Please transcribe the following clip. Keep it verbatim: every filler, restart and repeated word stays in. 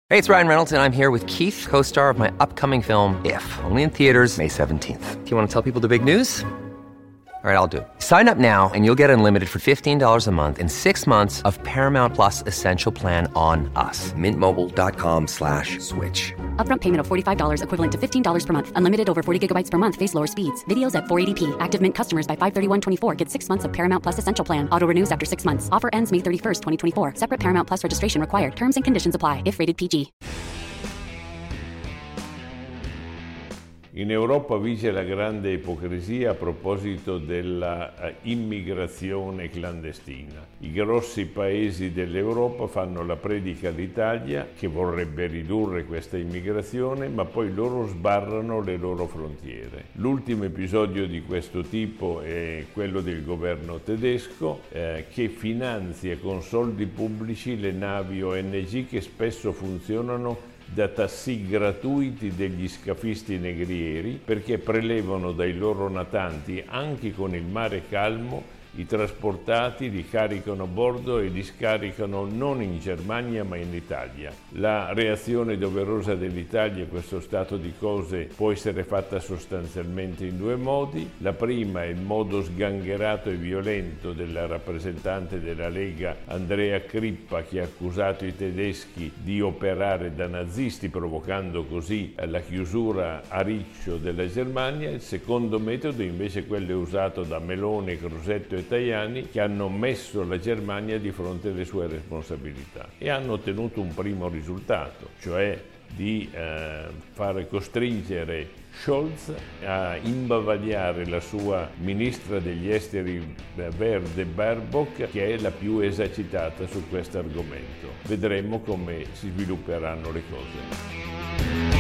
Hey, it's Ryan Reynolds, and I'm here with Keith, co-star of my upcoming film, If, only in theaters May seventeenth. Do you want to tell people the big news? All right, I'll do it. Sign up now and you'll get unlimited for fifteen dollars a month and six months of Paramount Plus Essential Plan on us. Mint Mobile dot com slash switch. Upfront payment of forty-five dollars equivalent to fifteen dollars per month. Unlimited over forty gigabytes per month. Face lower speeds. Videos at four eighty p. Active Mint customers by five thirty-one twenty-four get six months of Paramount Plus Essential Plan. Auto renews after six months. Offer ends May thirty-first, twenty twenty-four. Separate Paramount Plus registration required. Terms and conditions apply if rated P G. In Europa vige la grande ipocrisia a proposito della immigrazione clandestina. I grossi paesi dell'Europa fanno la predica all'Italia, che vorrebbe ridurre questa immigrazione, ma poi loro sbarrano le loro frontiere. L'ultimo episodio di questo tipo è quello del governo tedesco, eh, che finanzia con soldi pubblici le navi O N G che spesso funzionano da tassì gratuiti degli scafisti negrieri, perché prelevano dai loro natanti, anche con il mare calmo, i trasportati, li caricano a bordo e li scaricano non in Germania ma in Italia. La reazione doverosa dell'Italia a questo stato di cose può essere fatta sostanzialmente in due modi. La prima è il modo sgangherato e violento della rappresentante della Lega Andrea Crippa, che ha accusato i tedeschi di operare da nazisti, provocando così la chiusura a riccio della Germania. Il secondo metodo invece è quello usato da Meloni, Crosetto e Tajani, che hanno messo la Germania di fronte alle sue responsabilità e hanno ottenuto un primo risultato, cioè di eh, far costringere Scholz a imbavagliare la sua ministra degli esteri verde Baerbock, che è la più esercitata su questo argomento. Vedremo come si svilupperanno le cose.